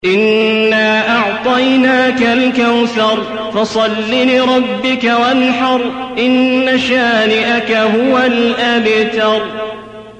إنا أعطيناك الكوثر فصل لربك وانحر إن شانئك هو الأبتر.